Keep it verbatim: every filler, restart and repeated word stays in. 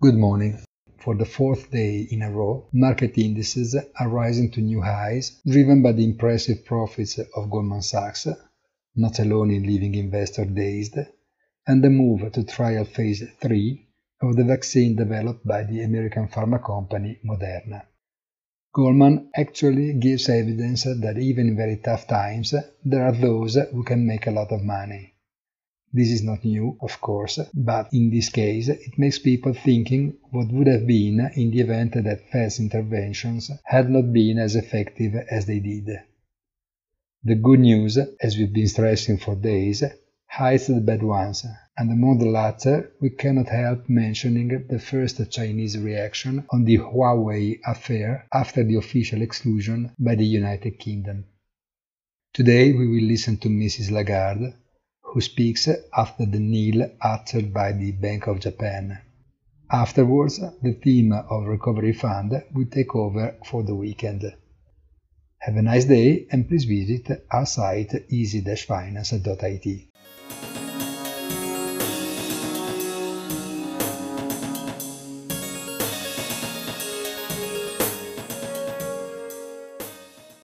Good morning. For the fourth day in a row, market indices are rising to new highs, driven by the impressive profits of Goldman Sachs, not alone in leaving investors dazed, and the move to trial phase three of the vaccine developed by the American pharma company Moderna. Goldman actually gives evidence that even in very tough times, there are those who can make a lot of money. This is not new, of course, but in this case it makes people thinking what would have been in the event that Fed's interventions had not been as effective as they did. The good news, as we've been stressing for days, hides the bad ones, and among the latter we cannot help mentioning the first Chinese reaction on the Huawei affair after the official exclusion by the United Kingdom. Today we will listen to Missus Lagarde, who speaks after the kneel uttered by the Bank of Japan. Afterwards, the team of Recovery Fund will take over for the weekend. Have a nice day and please visit our site easy dash finance dot I T.